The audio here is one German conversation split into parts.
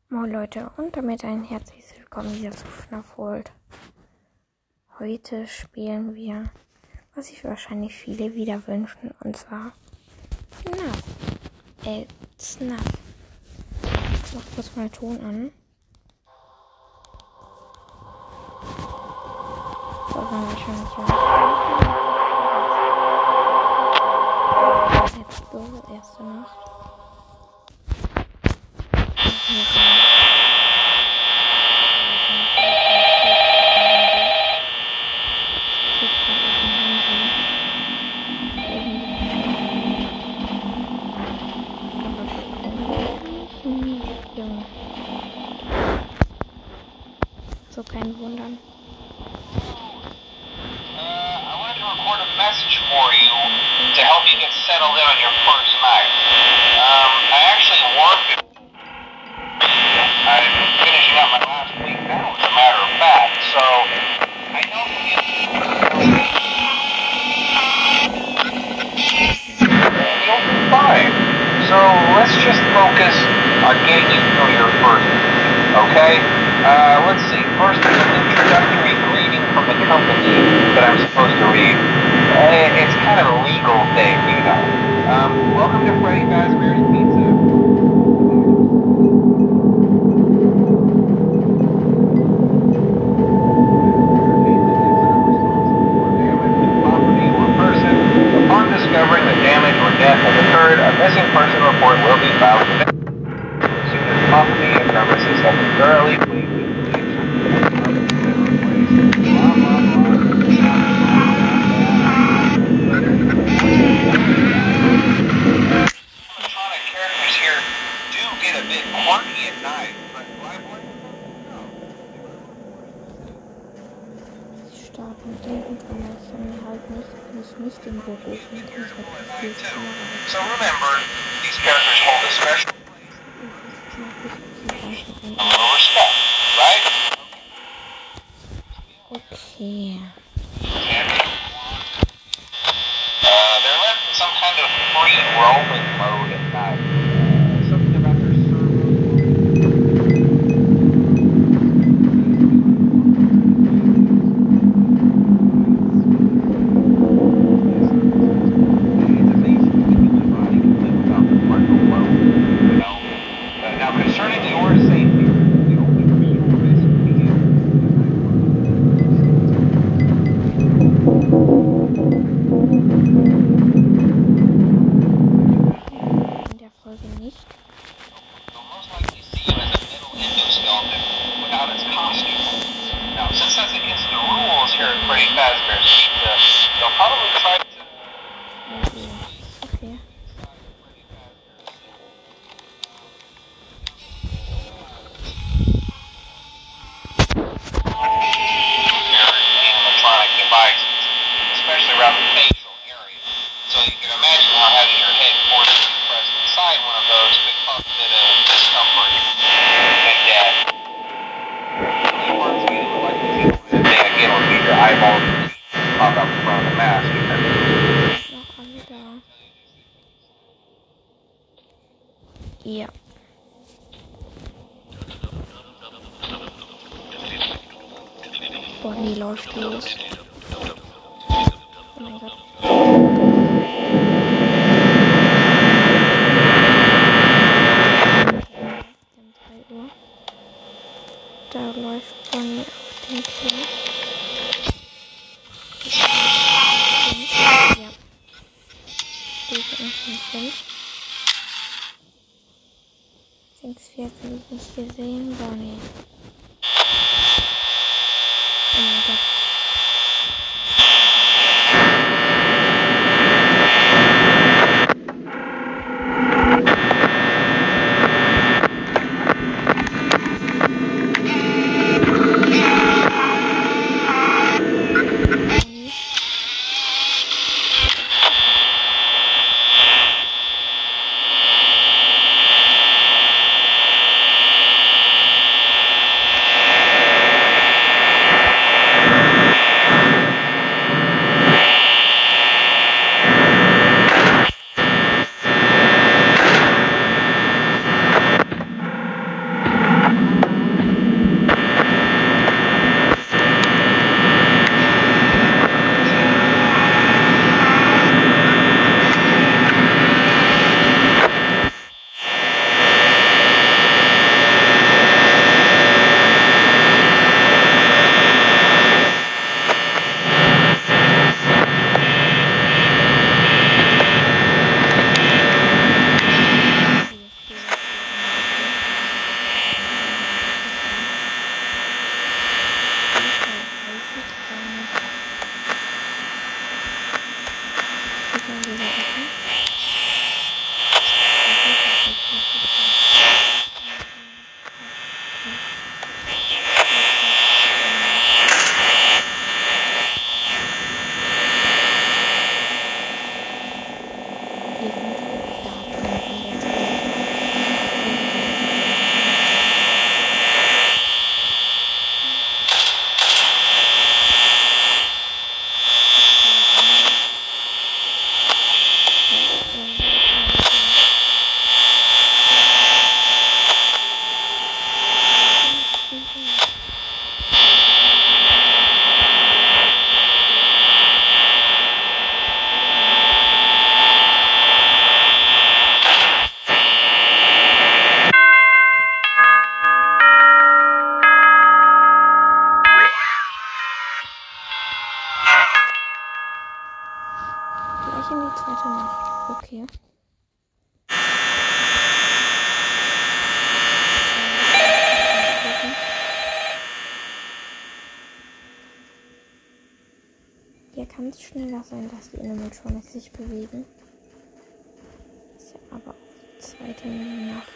Moin Leute und damit ein herzliches Willkommen wieder zu FNAF World. Heute spielen wir, was sich wahrscheinlich viele wieder wünschen, und zwar FNAF. Ich mach kurz mal Ton an. So, waren wahrscheinlich Let's go, erste Nacht. So kein Wundern. I wanted to record a message for you to help you get settled in on your first night. I actually worked. I'm finishing up my last week now, as a matter of fact. So I know you'll be fine. So let's just focus on getting you through your first week, okay? Let's see. First, there's an introductory greeting from the company that I'm supposed to read. It's kind of a legal thing, you know. Welcome to Freddy Fazbear's Pizza. Upon discovering that damage or death has occurred, a missing person report will be filed with as soon as property and premises have been thoroughly cleaned. Electronic characters here do get a bit quirky at night, but Stark und denken kann man es dann halt nicht, wenn ich nicht im Büro bin, kann ich halt nicht viel Kamera. So remember, these characters hold a special a little respect, right? Okay. They're left in some kind of free roaming mode at night. Something about their Now, concerning your safety, the only real risk to you In der Folge nicht. they'll most likely see you as a metal endoskeleton without its costume. Now, since that's against the rules here at Freddy Fazbear's Pizza, they'll probably try to... Okay. electronic devices, especially around the facial area. So you can imagine how having your head forcibly pressed inside one of those could cause a bit of discomfort and death. The parts of you that look like the thing again will be your eyeballs pop out the front of the mask. Noch alle da. Ja. Bonnie läuft los. Oh mein Gott. Um 3 Uhr. Da läuft Bonnie auf den Kill. Ja. Stufe in 5. 6-4 habe ich nicht gesehen. Bonnie. Oh mein Gott. Gute Nacht. Okay. Hier kann es schneller sein, dass die Animatronik sich bewegen. Ist ja aber auch die zweite Nacht.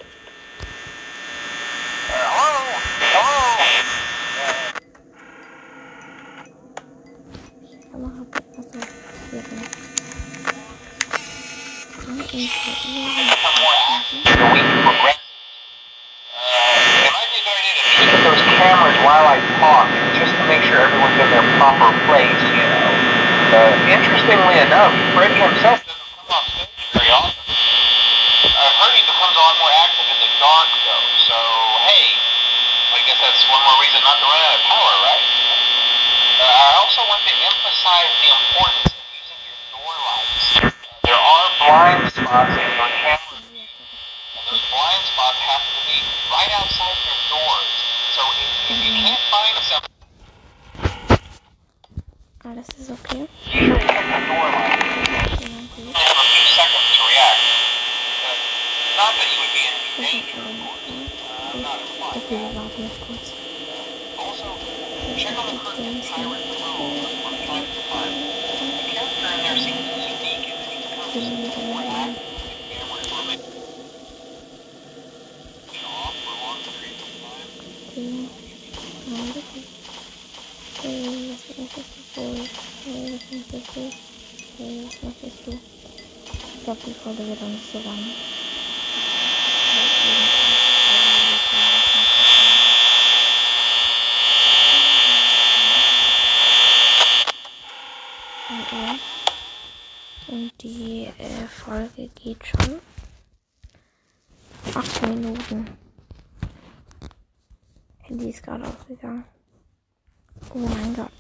Those cameras while I talk, just to make sure everyone's in their proper place, you know. Interestingly enough, Freddy himself doesn't come off stage very often. I've heard he becomes a lot more active in the dark, though, so hey, I guess that's one more reason not to run out of power, right? I also want to emphasize the importance of using your door lights. There are blind spots in your camera view, and those blind spots have to be right outside your doors. So if you can't find something, alles ist okay. usually hit the door light. You have a few seconds to react. Not that you would be in danger, of course. Not implying. Okay, wir warten jetzt kurz. Also, check on the curtain pirate clothes from time to time. The character in there seems unique in that he becomes more active when the cameras remain off for long periods of time. Ich glaube, die Folge wird auch nicht so lang. Und die Folge geht schon 8 Minuten. Handy ist gerade aufgegangen. Oh mein Gott.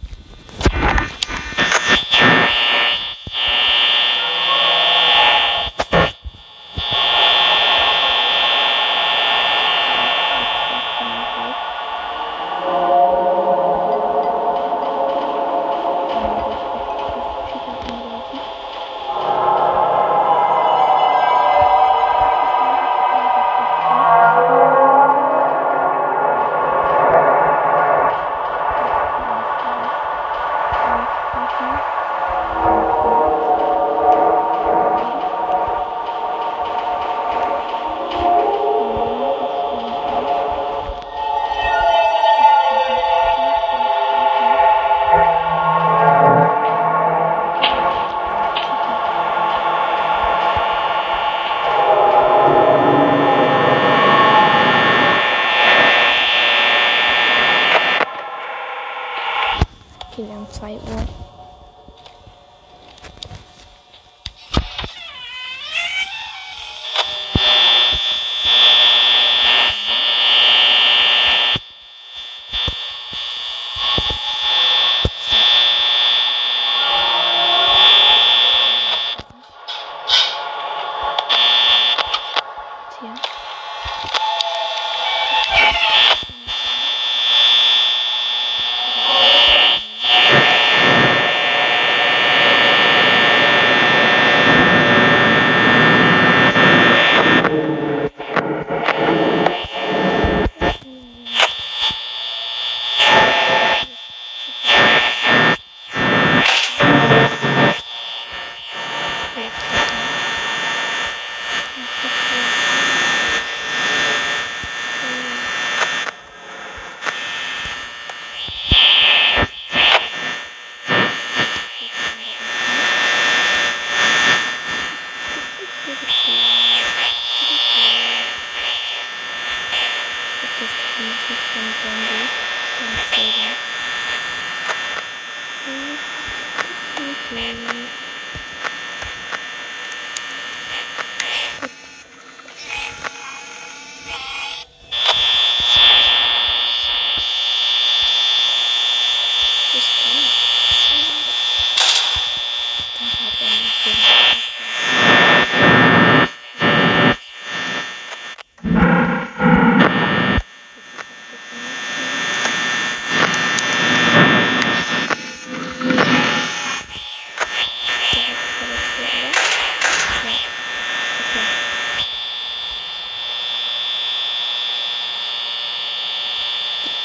Okay, wir haben 2 Uhr.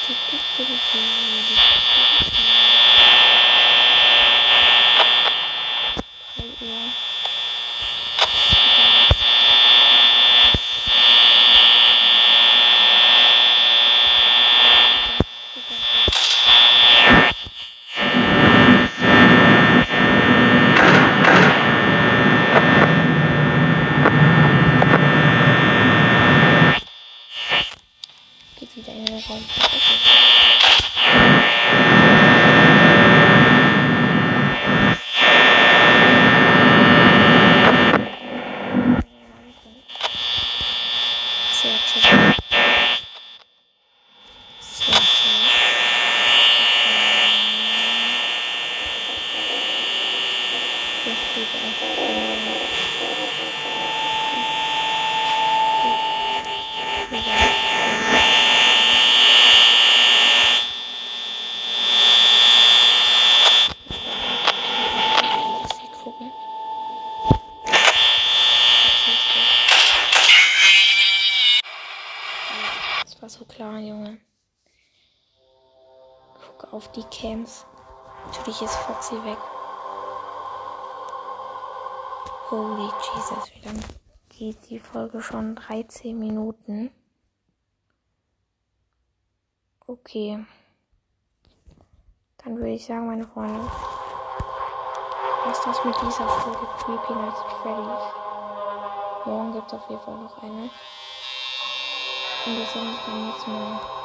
Geht wieder in den Raum. Sehr schön. Sehr schön. Hier steht einfach das war so klar, Junge. Guck auf die Camps. Natürlich ist Foxy weg. Holy Jesus, wie lange geht die Folge schon? 13 Minuten. Okay. Dann würde ich sagen, meine Freunde, was das mit dieser Folge Creepy Nights at Freddy's. Morgen gibt es auf jeden Fall noch eine. Und wir sehen uns beim nächsten Mal.